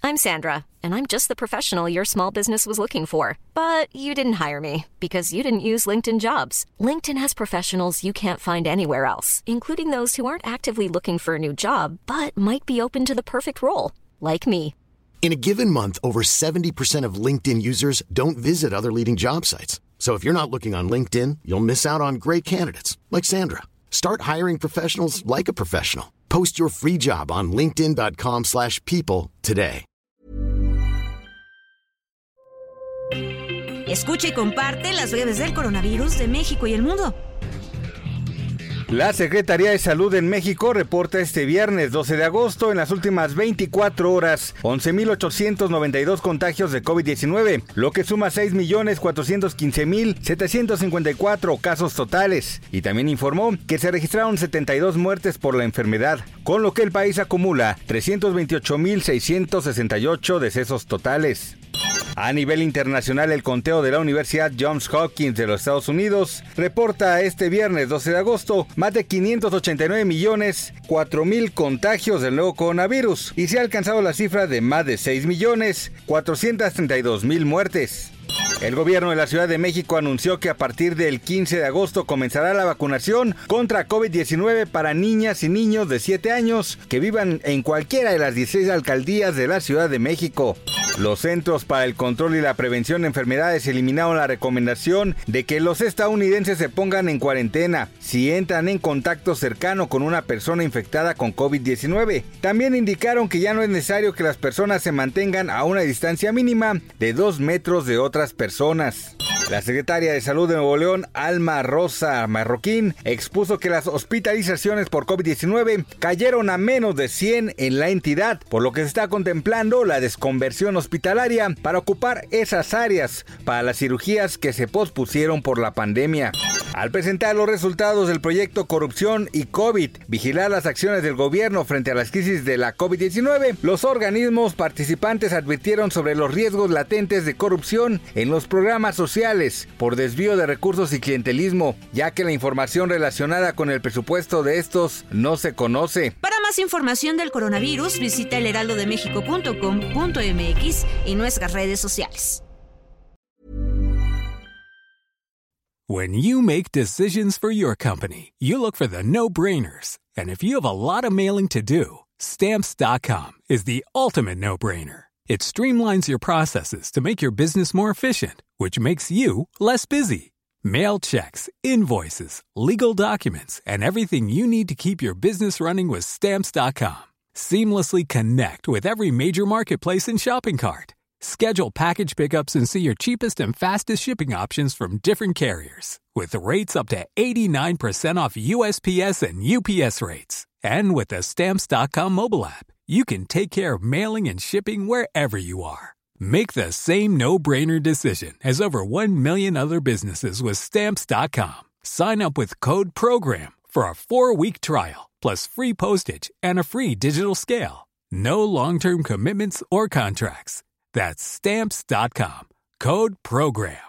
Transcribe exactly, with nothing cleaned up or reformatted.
I'm Sandra, and I'm just the professional your small business was looking for. But you didn't hire me because you didn't use LinkedIn Jobs. LinkedIn has professionals you can't find anywhere else, including those who aren't actively looking for a new job, but might be open to the perfect role, like me. In a given month, over seventy percent of LinkedIn users don't visit other leading job sites. So if you're not looking on LinkedIn, you'll miss out on great candidates like Sandra. Start hiring professionals like a professional. Post your free job on linkedin dot com slash people today. Escucha y comparte las breves del coronavirus de México y el mundo. La Secretaría de Salud en México reporta este viernes doce de agosto en las últimas veinticuatro horas once mil ochocientos noventa y dos contagios de COVID diecinueve, lo que suma seis millones cuatrocientos quince mil setecientos cincuenta y cuatro casos totales. Y también informó que se registraron setenta y dos muertes por la enfermedad, con lo que el país acumula trescientos veintiocho mil seiscientos sesenta y ocho decesos totales. A nivel internacional, el conteo de la Universidad Johns Hopkins de los Estados Unidos reporta este viernes doce de agosto más de quinientos ochenta y nueve millones cuatro mil contagios del nuevo coronavirus y se ha alcanzado la cifra de más de seis millones cuatrocientos treinta y dos mil muertes. El gobierno de la Ciudad de México anunció que a partir del quince de agosto comenzará la vacunación contra COVID diecinueve para niñas y niños de siete años que vivan en cualquiera de las dieciséis alcaldías de la Ciudad de México. Los Centros para el Control y la Prevención de Enfermedades eliminaron la recomendación de que los estadounidenses se pongan en cuarentena si entran en contacto cercano con una persona infectada con COVID diecinueve. También indicaron que ya no es necesario que las personas se mantengan a una distancia mínima de dos metros de otras personas. La secretaria de Salud de Nuevo León, Alma Rosa Marroquín, expuso que las hospitalizaciones por COVID diecinueve cayeron a menos de cien en la entidad, por lo que se está contemplando la desconversión hospitalaria para ocupar esas áreas para las cirugías que se pospusieron por la pandemia. Al presentar los resultados del proyecto Corrupción y COVID, vigilar las acciones del gobierno frente a las crisis de la COVID diecinueve, los organismos participantes advirtieron sobre los riesgos latentes de corrupción en los programas sociales por desvío de recursos y clientelismo, ya que la información relacionada con el presupuesto de estos no se conoce. Para más información del coronavirus, visita el heraldo de méxico punto com punto m x y nuestras redes sociales. When you make decisions for your company, you look for the no-brainers. And if you have a lot of mailing to do, Stamps dot com is the ultimate no-brainer. It streamlines your processes to make your business more efficient, which makes you less busy. Mail checks, invoices, legal documents, and everything you need to keep your business running with Stamps dot com. Seamlessly connect with every major marketplace and shopping cart. Schedule package pickups and see your cheapest and fastest shipping options from different carriers, with rates up to eighty-nine percent off U S P S and U P S rates. And with the Stamps dot com mobile app, you can take care of mailing and shipping wherever you are. Make the same no-brainer decision as over one million other businesses with Stamps dot com. Sign up with code PROGRAM for a four-week trial, plus free postage and a free digital scale. No long-term commitments or contracts. That's Stamps dot com. Code PROGRAM.